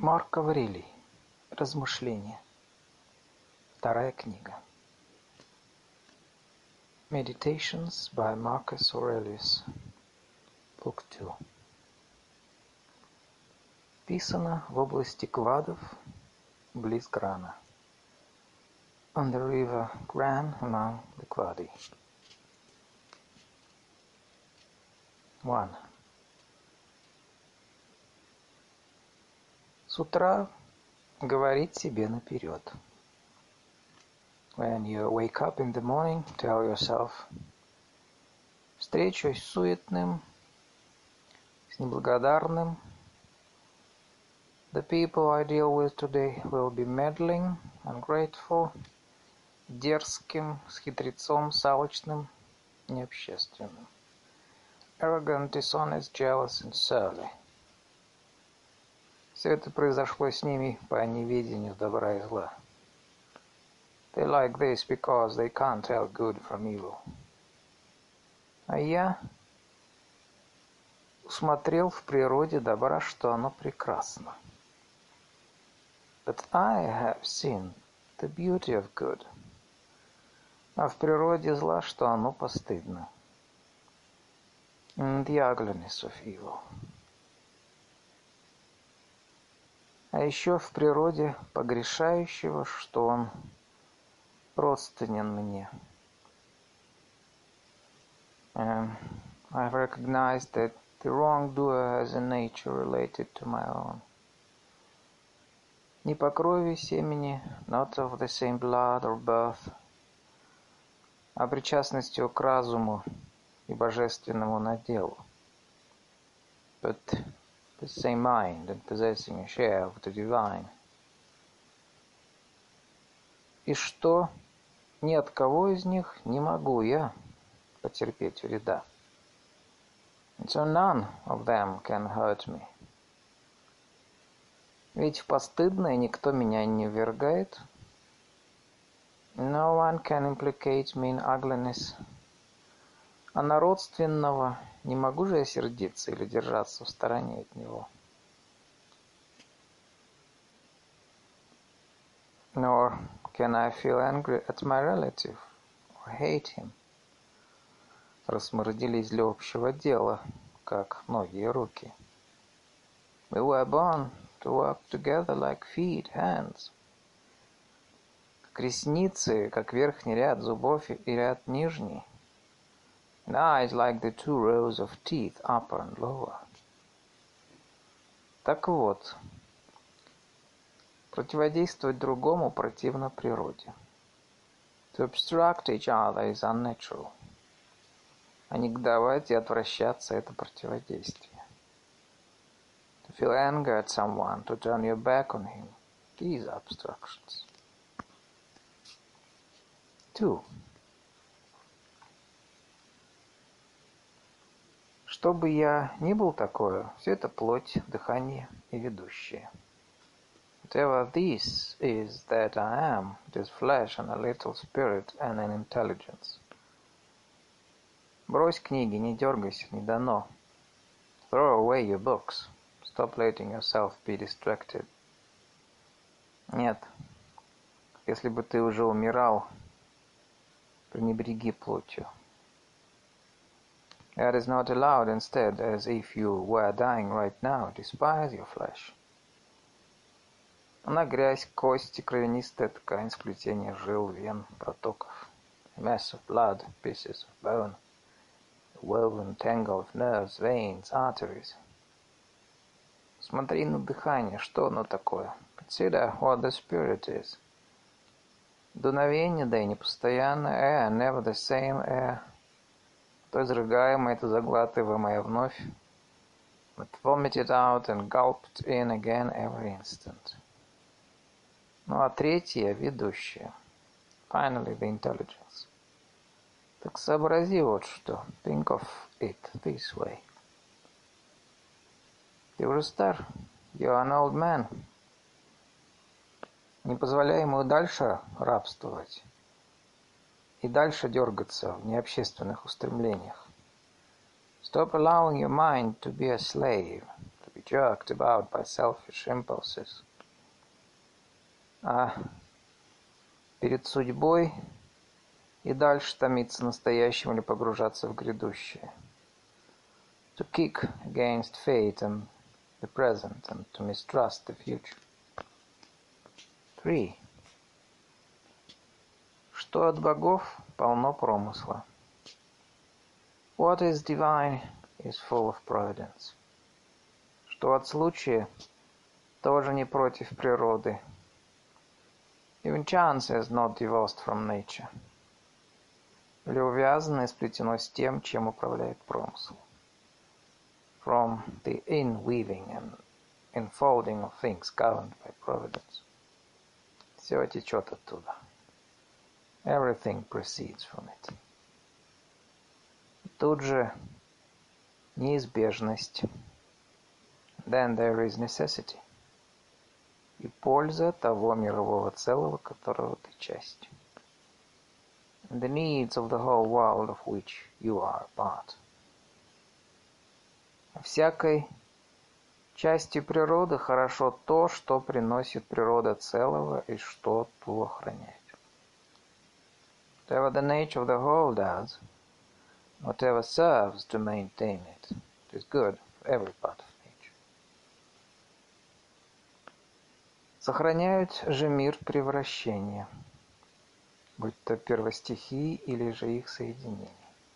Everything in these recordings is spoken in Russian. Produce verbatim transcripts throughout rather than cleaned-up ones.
Марк Аврелий. Размышления. Вторая книга. Meditations by Marcus Aurelius. Book two. Писано в области кладов, близ Грана. On the river Gran among the Quadi. One. С утра говорить себе наперед. When you wake up in the morning, tell yourself, встречусь с суетным, с неблагодарным. The people I deal with today will be meddling, ungrateful, дерзким, с хитрецом, с алчным, необщественным. Arrogant, dishonest, jealous and surly. Все это произошло с ними по неведению добра и зла. They like this because they can't tell good from evil. А я усмотрел в природе добра, что оно прекрасно. But I have seen the beauty of good. А в природе зла, что оно постыдно. And the ugliness of evil. А еще в природе погрешающего, что он родственен мне. And I've recognized that the wrongdoer has a nature related to my own. Не по крови семени, not of the same blood or birth, а причастностью к разуму и божественному наделу. But the same mind and possessing a share of the divine. И что ни от кого из них не могу я потерпеть вреда. And so none of them can hurt me. Ведь в постыдное никто меня не ввергает. No one can implicate me in ugliness. А на родственного не могу же я сердиться или держаться в стороне от него. Nor can I feel angry at my relative or hate him. Раз мы родились для общего дела, как ноги и руки. We were born to work together like feet, hands. Как ресницы, как верхний ряд зубов и ряд нижний. And eyes like the two rows of teeth, upper and lower. Так вот, противодействовать другому противно природе. To obstruct each other is unnatural. А негодовать и отвращаться – это противодействие. To feel anger at someone, to turn your back on him, these are obstructions. Two. Что бы я ни был такое, все это плоть, дыхание и ведущее. Whatever this is that I am, it is flesh and a little spirit and an intelligence. Брось книги, не дергайся, не дано. Throw away your books. Stop letting yourself be distracted. Нет. Если бы ты уже умирал, пренебреги плотью. That is not allowed. Instead, as if you were dying right now, despise your flesh. Она грязь, кости, кровянистая ткань, сплетение жил, вен, протоков. A mess of blood, pieces of bone, a woven tangle of nerves, veins, arteries. Смотри на дыхание, что оно такое. Consider what the spirit is. Дуновение, да и непостоянное, air, never the same air. То изрыгаемое, то заглатываемое вновь. But vomited out and gulped in again every instant. Ну а третье, ведущее. Finally, the intelligence. Так сообрази вот что. Think of it this way. Ты уже стар. You are an old man. Не позволяй ему дальше рабствовать. И дальше дергаться в необщественных устремлениях. Stop allowing your mind to be a slave, to be jerked about by selfish impulses. А перед судьбой и дальше томиться настоящим или погружаться в грядущее. To kick against fate and the present and to mistrust the future. Three. Что от богов полно промысла. What is divine is full of providence. Что от случая тоже не против природы. Even chance is not divorced from nature. Или увязано и сплетено с тем, чем управляет промысл. From the inweaving and enfolding of things governed by providence. Все течет оттуда. Everything proceeds from it. Тут же неизбежность. Then there is necessity. И польза того мирового целого, которого ты часть. And the needs of the whole world of which you are a part. Всякой части природы хорошо то, что приносит природа целого и что ту охраняет. Whatever the nature of the whole does, whatever serves to maintain it, it is good for every part of nature. Сохраняют же мир превращения, будь то первостихии или же их соединение.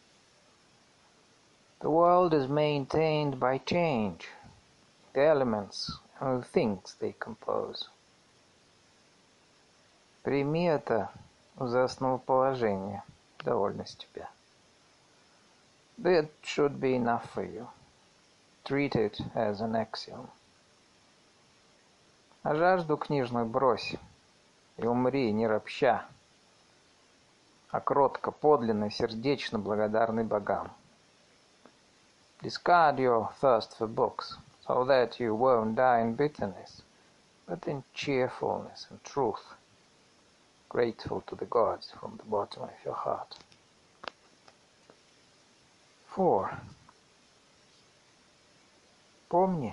The world is maintained by change, the elements and the things they compose. Прими это за основоположение, довольно с тебя. That should be enough for you. Treat it as an axiom. А жажду книжную брось и умри, не ропща, а кротко, подлинно, сердечно благодарный богам. Discard your thirst for books, so that you won't die in bitterness, but in cheerfulness and truth, grateful to the gods from the bottom of your heart. Four. Помни,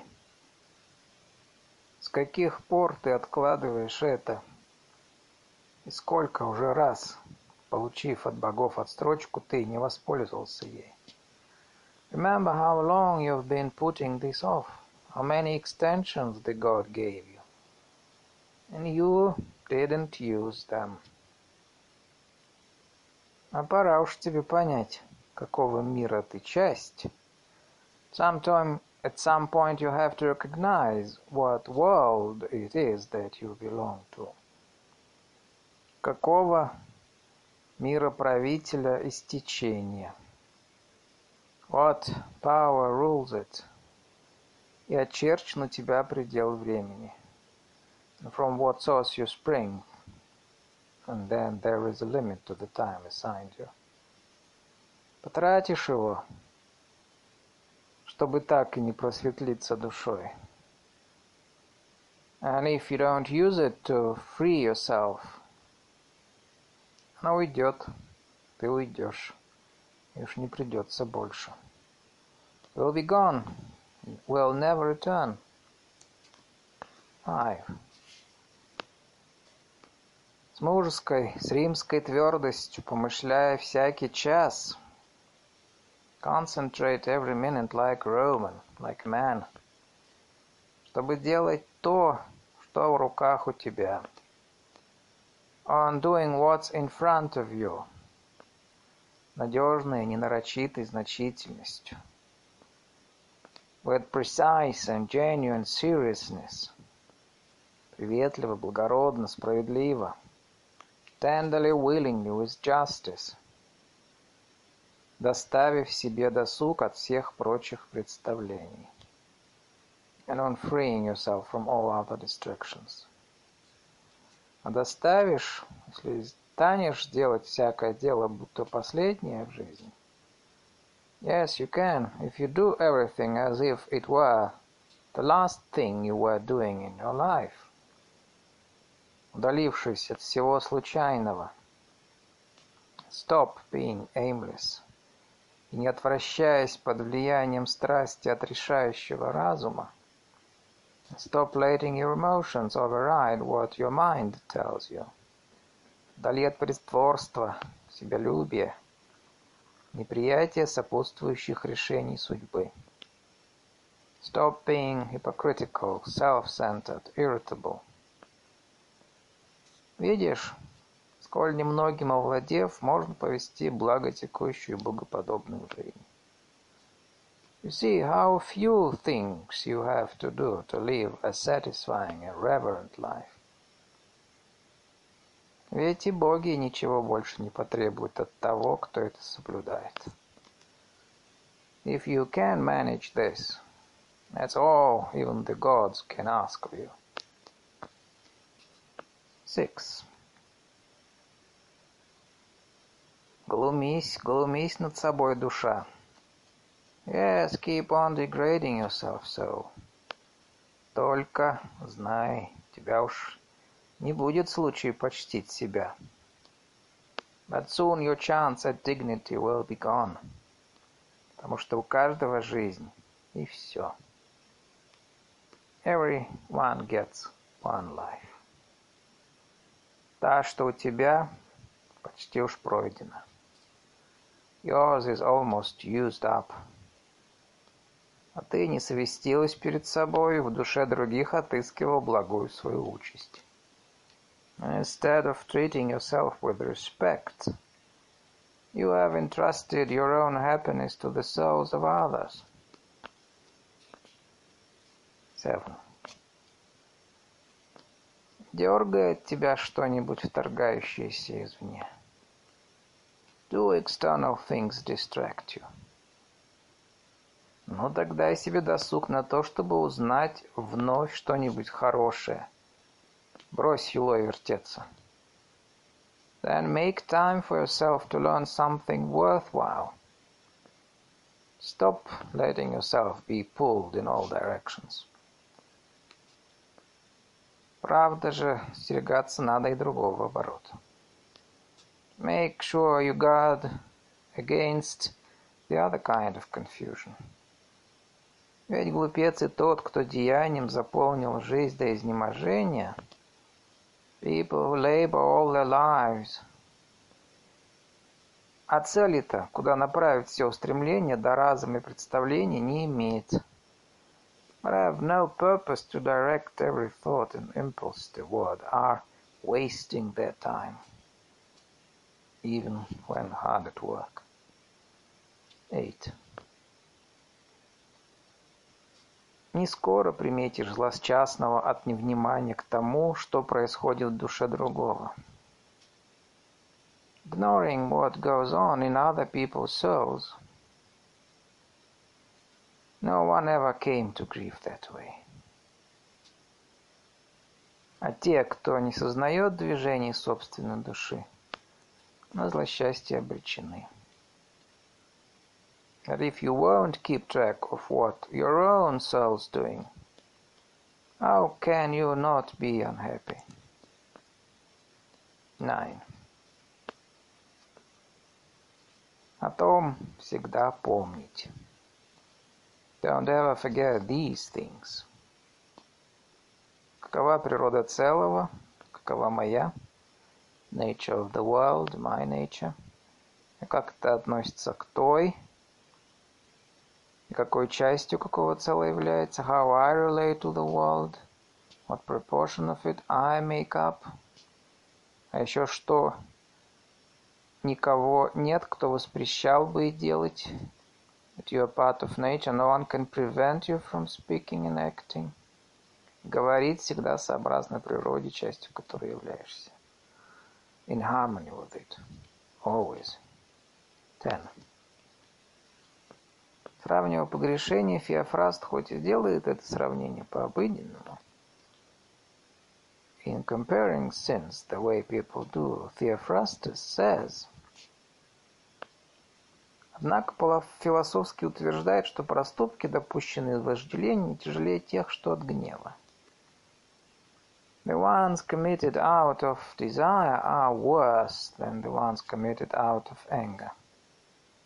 с каких пор ты откладываешь это, и сколько уже раз, получив от богов отстрочку, ты не воспользовался ей. Remember how long you've been putting this off, how many extensions the God gave you, and you didn't use them. А пора уж тебе понять, какого мира ты часть. Sometime, at some point you have to recognize what world it is that you belong to. Какого мира правителя и стечения. What power rules it? И очерчен у тебя предел времени. And from what source you spring, and then there is a limit to the time assigned you. Потратишь его, чтобы так и не просветлиться душой. And if you don't use it to free yourself, оно уйдет, ты уйдешь. И уж не придется больше. Will be gone, will never return. Five. С мужеской, с римской твердостью, помышляя всякий час. Concentrate every minute like a Roman, like a man. Чтобы делать то, что в руках у тебя. On doing what's in front of you. Надежной, ненарочитой значительностью. With precise and genuine seriousness. Приветливо, благородно, справедливо. Tenderly, willingly, with justice. Доставив себе досуг от всех прочих представлений. And on freeing yourself from all other distractions. А доставишь, если станешь делать всякое дело, будто последнее в жизни. Yes, you can, if you do everything as if it were the last thing you were doing in your life. Удалившись от всего случайного. Stop being aimless. И не отвращаясь под влиянием страсти от решающего разума. Stop letting your emotions override what your mind tells you. Вдали от притворства, себялюбия, неприятия сопутствующих решений судьбы. Stop being hypocritical, self-centered, irritable. Видишь, сколь немногим овладев, можно повести благотекущую и богоподобную жизнь. You see how few things you have to do to live a satisfying and reverent life. Ведь и боги ничего больше не потребуют от того, кто это соблюдает. If you can manage this, that's all even the gods can ask of you. Six. Глумись, глумись над собой, душа. Yes, keep on degrading yourself so. Только, знай, тебя уж не будет случая почтить себя. But soon your chance at dignity will be gone. Потому что у каждого жизнь, и все. Everyone gets one life. Та, что у тебя, почти уж пройдена. Yours is almost used up. А ты не совестилась перед собой, в душе других отыскивал благую свою участь. Instead of treating yourself with respect, you have entrusted your own happiness to the souls of others. Seven. Дергает тебя что-нибудь, вторгающееся извне. Do external things distract you? Ну, так дай себе досуг на то, чтобы узнать вновь что-нибудь хорошее. Брось юлой вертеться. Then make time for yourself to learn something worthwhile. Stop letting yourself be pulled in all directions. Правда же, остерегаться надо и другого оборота. Make sure you guard against the other kind of confusion. Ведь глупец и тот, кто деянием заполнил жизнь до изнеможения. People who labor all their lives. А цели-то, куда направить все устремления, до разума и представления, не имеет. But have no purpose to direct every thought and impulse toward, are wasting their time, even when hard at work. Eight. Не скоро приметишь злосчастного от невнимания к тому, что происходит в душе другого. Ignoring what goes on in other people's souls, no one ever came to grief that way. А те, кто не сознает движений собственной души, на злосчастье обречены. That if you won't keep track of what your own soul's doing, how can you not be unhappy? Nine. О том всегда помнить. Don't ever forget these things. Какова природа целого, какова моя? Nature of the world, my nature. И как это относится к той, и какой частью какого целого является? How I relate to the world, what proportion of it I make up. А еще что? Никого нет, кто воспрещал бы и делать. That you are part of nature, no one can prevent you from speaking and acting. Говорить всегда сообразно природе, частью которой являешься. In harmony with it. Always. Ten. Сравнивая погрешение, Феофраст хоть и делает это сравнение по-обыденному. In comparing sins the way people do, Theophrastus says, однако философски утверждает, что проступки, допущенные из вожделения, тяжелее тех, что от гнева. The ones committed out of desire are worse than the ones committed out of anger.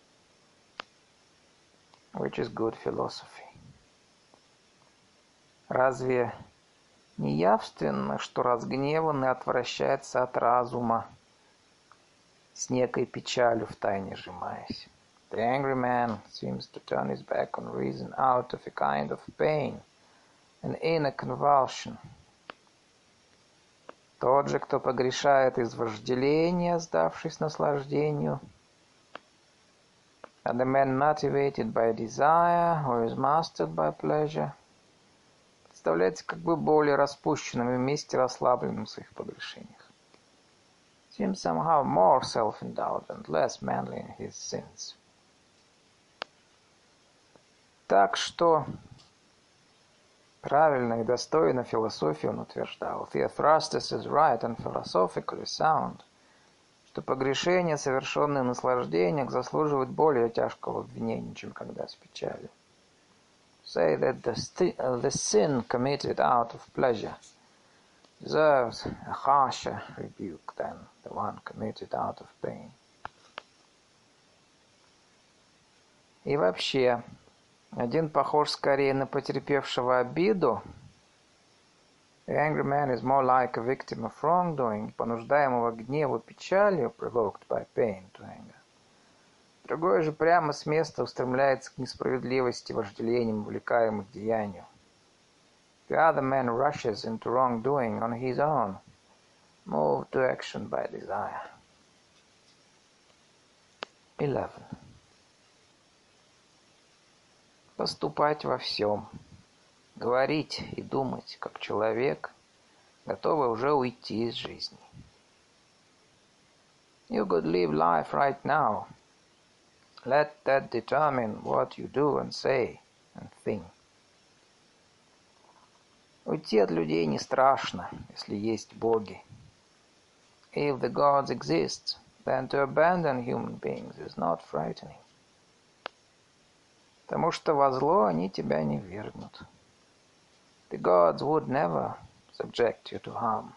Which is good philosophy. Разве не явственно, что разгневанный отвращается от разума, с некой печалью втайне сжимаясь? The angry man seems to turn his back on reason out of a kind of pain, an inner convulsion. Тот же, кто погрешает из вожделения, сдавшись наслаждению, and the man motivated by desire or is mastered by pleasure, представляется как бы более распущенным и вместе расслабленным в своих погрешениях. Seems somehow more self-indulgent, less manly in his sins. Так что правильно и достойно философии он утверждал, Theophrastus is right and philosophically sound, что погрешения, совершенные в наслаждениях, заслуживают более тяжкого обвинения, чем когда с печалью. Say that the, sti- uh, the sin committed out of pleasure deserves a harsher rebuke than the one committed out of pain. И вообще, один похож скорее на потерпевшего обиду. The angry man is more like a victim of wrongdoing, понуждаемого гневу печалью, provoked by pain to anger. Другой же прямо с места устремляется к несправедливости, вожделением, увлекаемым к деянию. The other man rushes into wrongdoing on his own, moved to action by desire. Eleven. Поступать во всем, говорить и думать, как человек, готовый уже уйти из жизни. You could live life right now. Let that determine what you do and say and think. Уйти от людей не страшно, если есть боги. If the gods exist, then to abandon human beings is not frightening. Потому что во зло они тебя не ввергнут. The gods would never subject you to harm.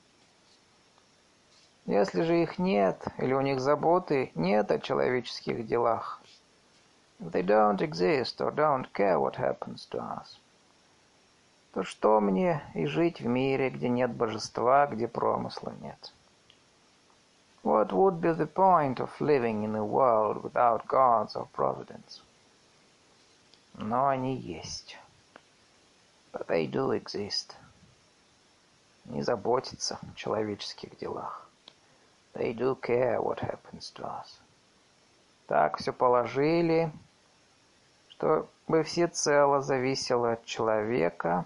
Если же их нет, или у них заботы нет о человеческих делах, if they don't exist or don't care what happens to us, то что мне и жить в мире, где нет божества, где промысла нет? What would be the point of living in a world without gods or providence? Но они есть. But they do exist. Не заботятся о человеческих делах. They do care what happens to us. Так все положили, чтобы всецело зависело от человека.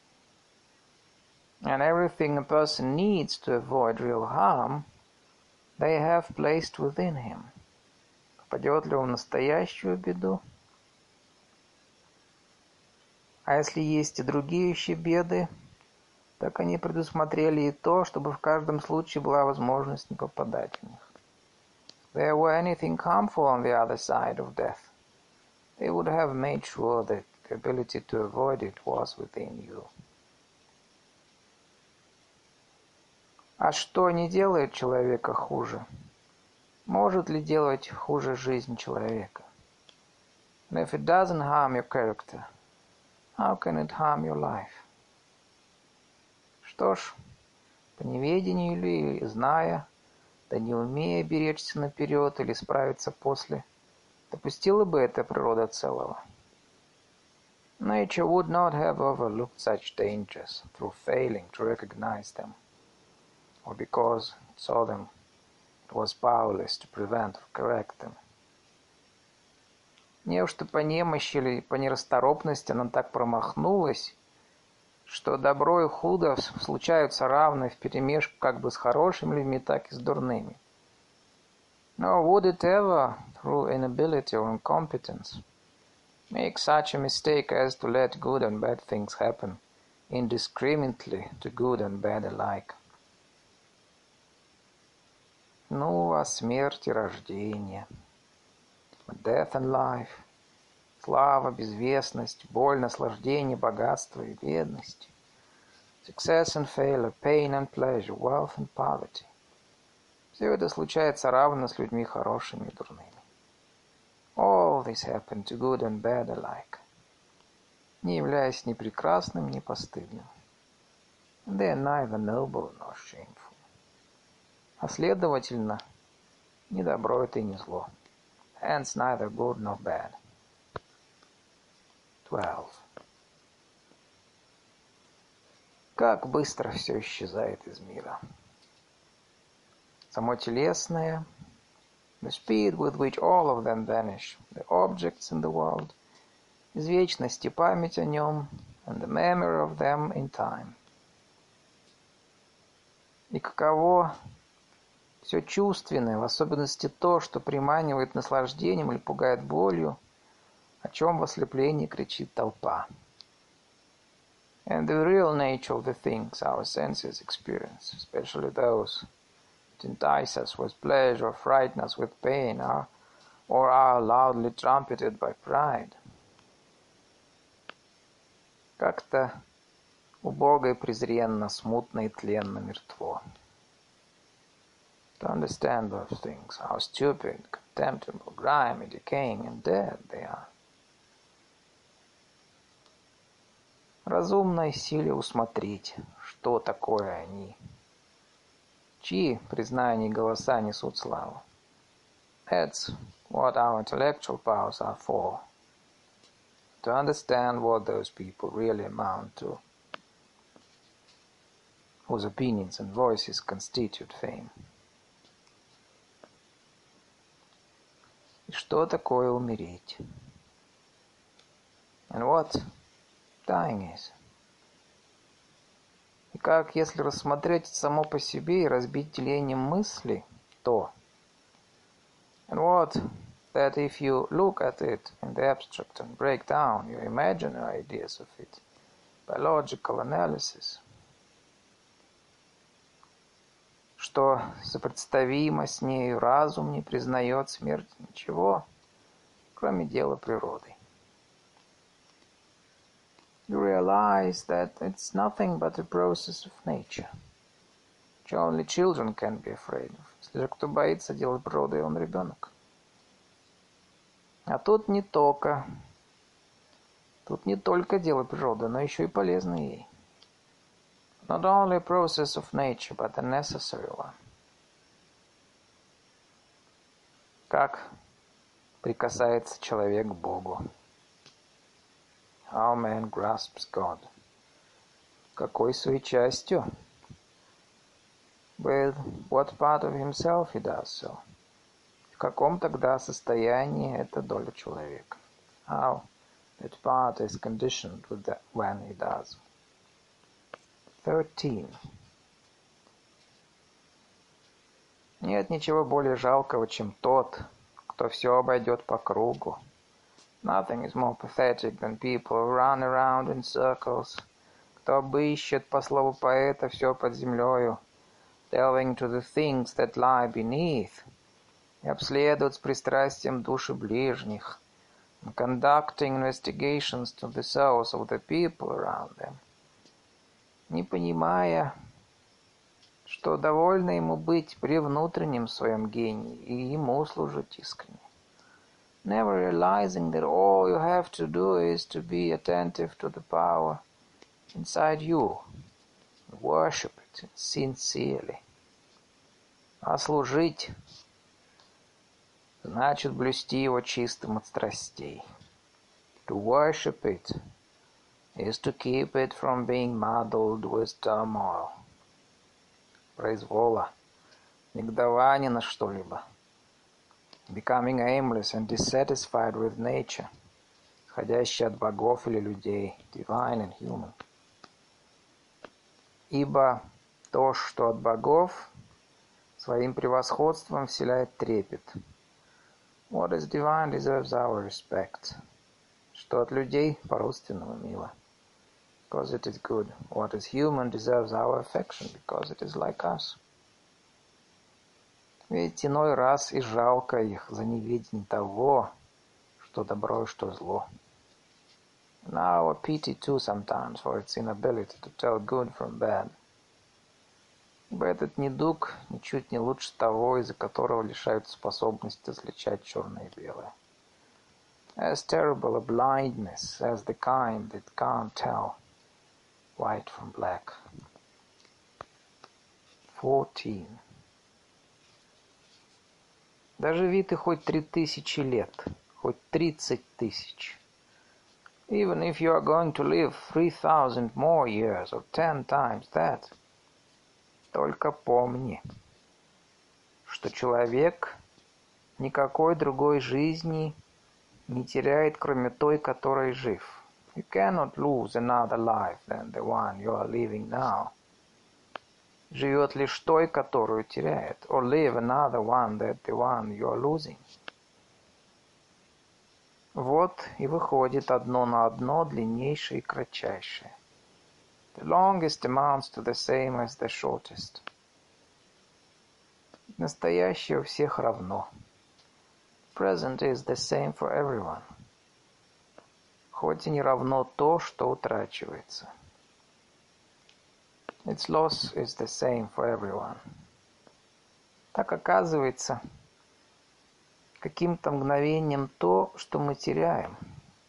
And everything a person needs to avoid real harm, they have placed within him. Попадет ли он в настоящую беду? А если есть и другие еще беды, так они предусмотрели и то, чтобы в каждом случае была возможность не попадать в них. If there were anything harmful on the other side of death, they would have made sure that the ability to avoid it was within you. А что не делает человека хуже? Может ли делать хуже жизнь человека? And if it doesn't harm your character, how can it harm your life? Что ж, по неведению или зная, да не умея беречься наперед или справиться после, допустила бы это природа целого. Nature would not have overlooked such dangers through failing to recognize them, or because it saw them, it was powerless to prevent or correct them. Неужто по немощи или по нерасторопности она так промахнулась, что добро и худо случаются равно вперемешку как бы с хорошими людьми, так и с дурными? Nor would it ever, through inability or incompetence, make such a mistake as to let good and bad things happen indiscriminately to good and bad alike. Ну, а смерть и рождение, death and life, слава, безвестность, боль, наслаждение, богатство и бедность, success and failure, pain and pleasure, wealth and poverty. Все это случается равно с людьми хорошими и дурными. All this happened to good and bad alike. не являясь ни прекрасным, ни постыдным. And they are neither noble nor shameful. А следовательно, ни добро это и ни зло. Hence neither good nor bad. twelve. Как быстро все исчезает из мира. Само телесное, the speed with which all of them vanish, the objects in the world, из вечности память о нем, and the memory of them in time. И каково все чувственное, в особенности то, что приманивает наслаждением или пугает болью, о чем в ослеплении кричит толпа. And the real nature of the things our senses experience, especially those that entice us with pleasure or frighten us with pain, are, or are loudly trumpeted by pride. Как-то убого и презренно, смутно и тленно мертво. To understand those things, how stupid, contemptible, grimy, decaying, and dead they are. Разумной силе усмотреть, что такое они, чьи признания и голоса несут славу. That's what our intellectual powers are for, to understand what those people really amount to, whose opinions and voices constitute fame. И что такое умереть? And what dying is. И как, если рассмотреть само по себе и разбить делением мысли, то and what that if you look at it in the abstract and break down your imaginary ideas of it by logical analysis, что сопредставимо с нею разум не признает смерть ничего, кроме дела природы. You realize that it's nothing but a process of nature, which only children can be afraid of. Если же кто боится дела природы, он ребенок. А тут не только, тут не только дело природы, но еще и полезно ей. Not only a process of nature, but a necessary one. Как прикасается человек к Богу. How man grasps God. Какой своей частью? With what part of himself he does so. В каком тогда состоянии эта доля человека? How that part is conditioned with that when he does. thirteen. Нет ничего более жалкого, чем тот, кто все обойдет по кругу. Nothing is more pathetic than people who run around in circles, кто обыщет, по слову поэта, все под землею, delving to the things that lie beneath, и обследует с пристрастием души ближних, and conducting investigations to the souls of the people around them, не понимая, что довольно ему быть при внутреннем своем гении и ему служить искренне. Never realizing that all you have to do is to be attentive to the power inside you, and worship it sincerely. А служить значит блюсти его чистым от страстей. To worship it is to keep it from being muddled with turmoil. Произвола, негодование на что-либо. Becoming aimless and dissatisfied with nature, исходящий от богов или людей, divine and human. Ибо то, что от богов, своим превосходством вселяет трепет. What is divine deserves our respect. Что от людей по-родственному мило, because it is good. What is human deserves our affection, because it is like us. Ведь иной раз и жалко их за неведение того, что добро и что зло. And our pity too sometimes for its inability to tell good from bad. Ибо этот недуг ничуть не лучше того, из-за которого лишают способности различать черное и белое. as terrible a blindness as the kind that can't tell white from black. fourteen. Доживи ты хоть три тысячи лет, хоть тридцать тысяч. Even if you are going to live three thousand more years or ten times that, только помни, что человек никакой другой жизни не теряет, кроме той, которой жив. You cannot lose another life than the one you are living now. Живет лишь той, которую теряет, or live another one that the one you are losing. Вот и выходит одно на одно длиннейшее и кратчайшее. The longest amounts to the same as the shortest. Настоящее у всех равно. Present is the same for everyone. Хоть и не равно то, что утрачивается. Its loss is the same for everyone. Так оказывается, каким-то мгновением то, что мы теряем.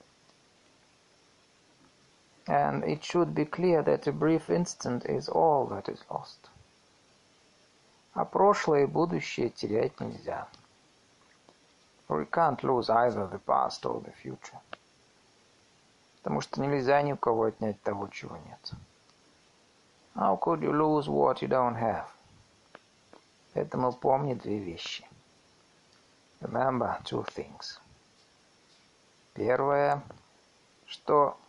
And it should be clear that a brief instant is all that is lost. А прошлое и будущее терять нельзя. For we can't lose either the past or the future. Потому что нельзя ни у кого отнять того, чего нет. How could you lose what you don't have? Поэтому помни две вещи. Remember two things. Первое, что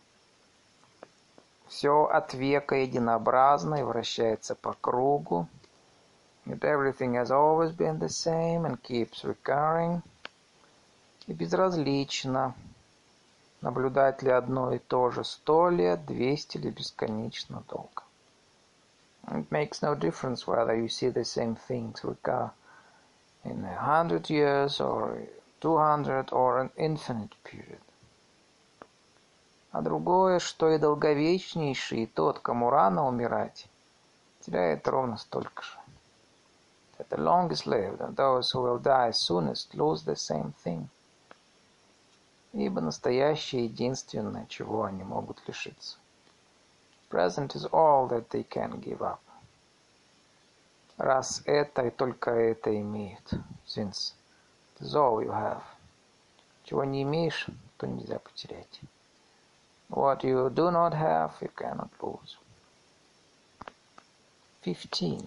все от века единообразно и вращается по кругу. That everything has always been the same and keeps recurring. И безразлично, наблюдать ли одно и то же сто лет, двести или бесконечно долго. It makes no difference whether you see the same things recur in a hundred years or two hundred or an infinite period. А другое, что и долговечнейший, и тот, кому рано умирать, теряет ровно столько же. That the longest lived and those who will die soonest lose the same thing. Ибо настоящее единственное, чего они могут лишиться. Present is all that they can give up. Раз это и только это имеют, since it is all you have. Чего не имеешь, то нельзя потерять. What you do not have, you cannot lose. fifteen.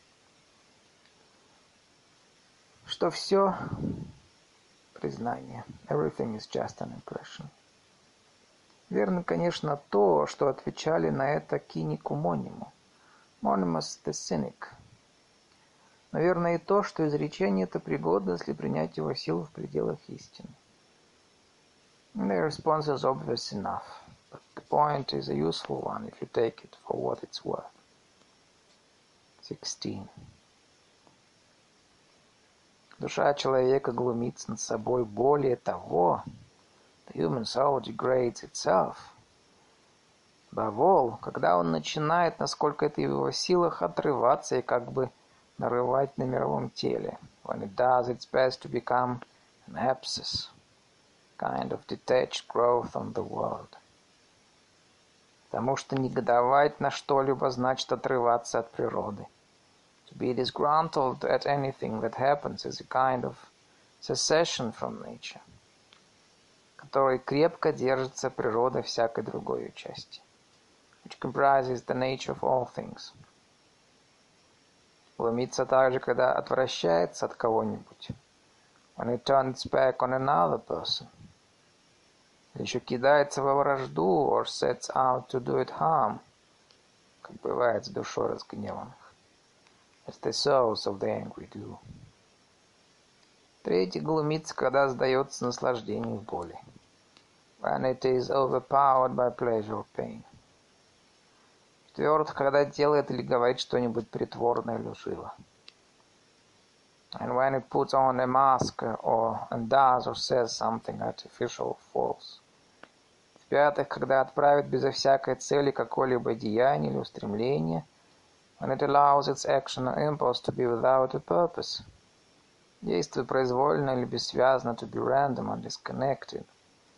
Что все признание. Everything is just an impression. Верно, конечно, то, что отвечали на это кинику Мониму. Monimus the cynic. Наверное, и то, что изречение это пригодно, если принять его силу в пределах истины. The response is obvious enough, but the point is a useful one if you take it for what it's worth. sixteen. Душа человека глумится над собой, более того, the human soul degrades itself. Above all, когда он начинает, насколько это в его силах, отрываться и как бы нарывать на мировом теле. When it does its best to become an abscess, kind of detached growth on the world. Потому что негодовать на что-либо значит отрываться от природы. To be disgruntled at anything that happens is a kind of secession from nature, который крепко держится природой всякой другой ее части, which comprises the nature of all things. Глумится также, когда отвращается от кого-нибудь, when it turns back on another person, или еще кидается во вражду, or sets out to do it harm, как бывает с душой разгневанных, as the souls of the angry do. Третий глумится, когда сдается наслаждению в боли, when it is overpowered by pleasure or pain. Четвертый, когда делает или говорит что-нибудь притворное или лживо, and when it puts on a mask or and does or says something artificial or false. В-пятых, когда отправит безо всякой цели какое-либо деяние или устремление, when it allows its action or impulse to be without a purpose, действует произвольно или бессвязно, to be random and disconnected,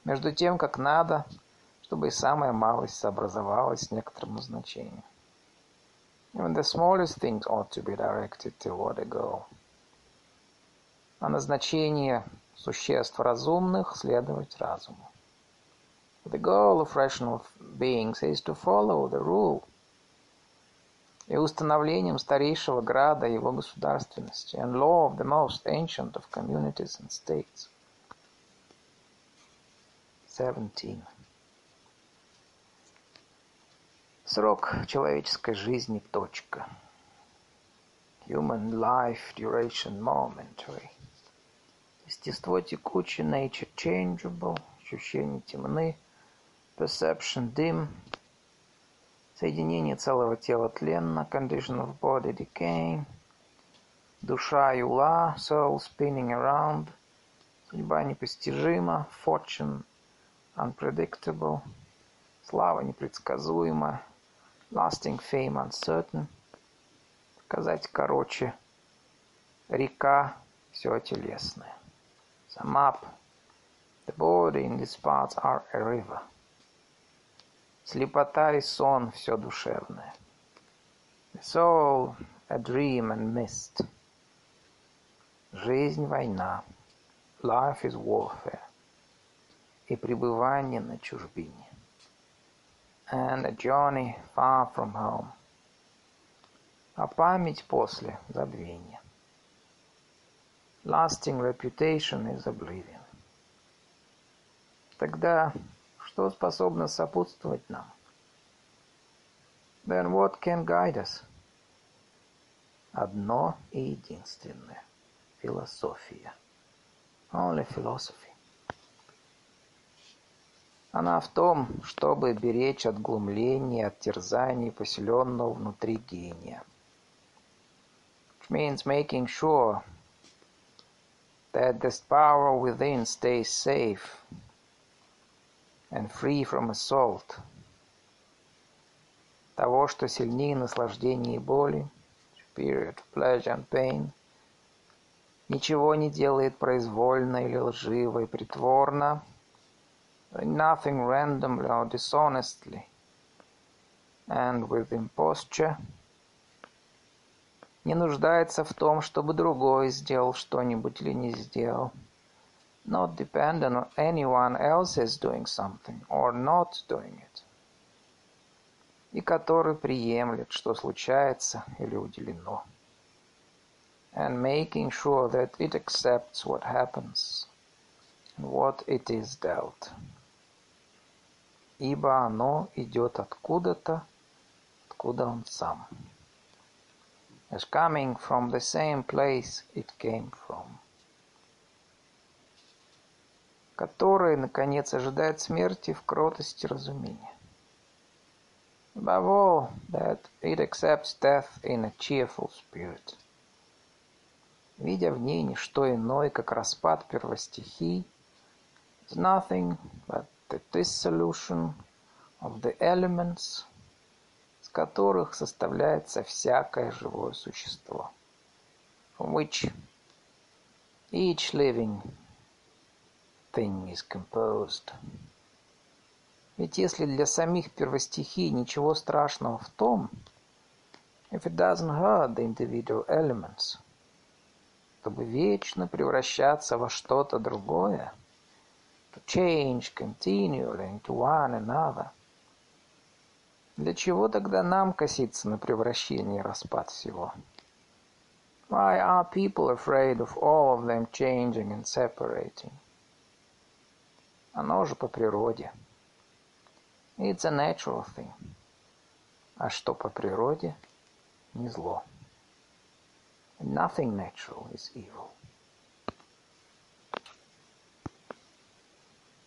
между тем, как надо, чтобы и самая малость сообразовалась с некоторым назначением. Even the smallest things ought to be directed toward a goal. А назначение существ разумных — следовать разуму. The goal of rational beings is to follow the rule. И установлением старейшего града его государственности, and law of the most ancient of communities and states. seventeen. Срок человеческой жизни — точка. Human life duration momentary. Естество текуче, nature changeable, ощущения темны, perception dim, соединение целого тела тленно, condition of body decaying, душа юла, soul spinning around, судьба непостижима, fortune unpredictable, слава непредсказуема, lasting fame uncertain, сказать короче, река все телесное. Sum up, the body in these parts are a river. Слепота и сон все душевное. The soul, a dream and mist. Жизнь — война. Life is warfare. И пребывание на чужбине. And a journey far from home. А память после — забвение. Lasting reputation is oblivion. Тогда что способно сопутствовать нам? Then what can guide us? Одно и единственное — философия. Only philosophy. Она в том, чтобы беречь от глумления, от терзаний, поселенного внутри гения. Which means making sure that this power within stays safe and free from assault. Того, что сильнее наслаждения и боли, superior to pleasure and pain, ничего не делает произвольно или лживо и притворно, nothing randomly or dishonestly, and with imposture, не нуждается в том, чтобы другой сделал что-нибудь или не сделал, not dependent on anyone else's doing something or not doing it, и который приемлет, что случается или уделено, and making sure that it accepts what happens and what it is dealt. Ибо оно идет откуда-то, откуда он сам. As coming from the same place it came from. Который, наконец, ожидает смерти в кротости разумения. Above all, that it accepts death in a cheerful spirit. Видя в ней не что иное, как распад первостихий, is nothing but the dissolution of the elements, с которых составляется всякое живое существо, from which each living thing is composed. Ведь если для самих первостихий ничего страшного в том, if it doesn't hurt the individual elements, чтобы вечно превращаться во что-то другое, to change continually into one another, для чего тогда нам коситься на превращение и распад всего? Why are people afraid of all of them changing and separating? Оно же по природе. It's a natural thing. А что по природе, не зло. Nothing natural is evil.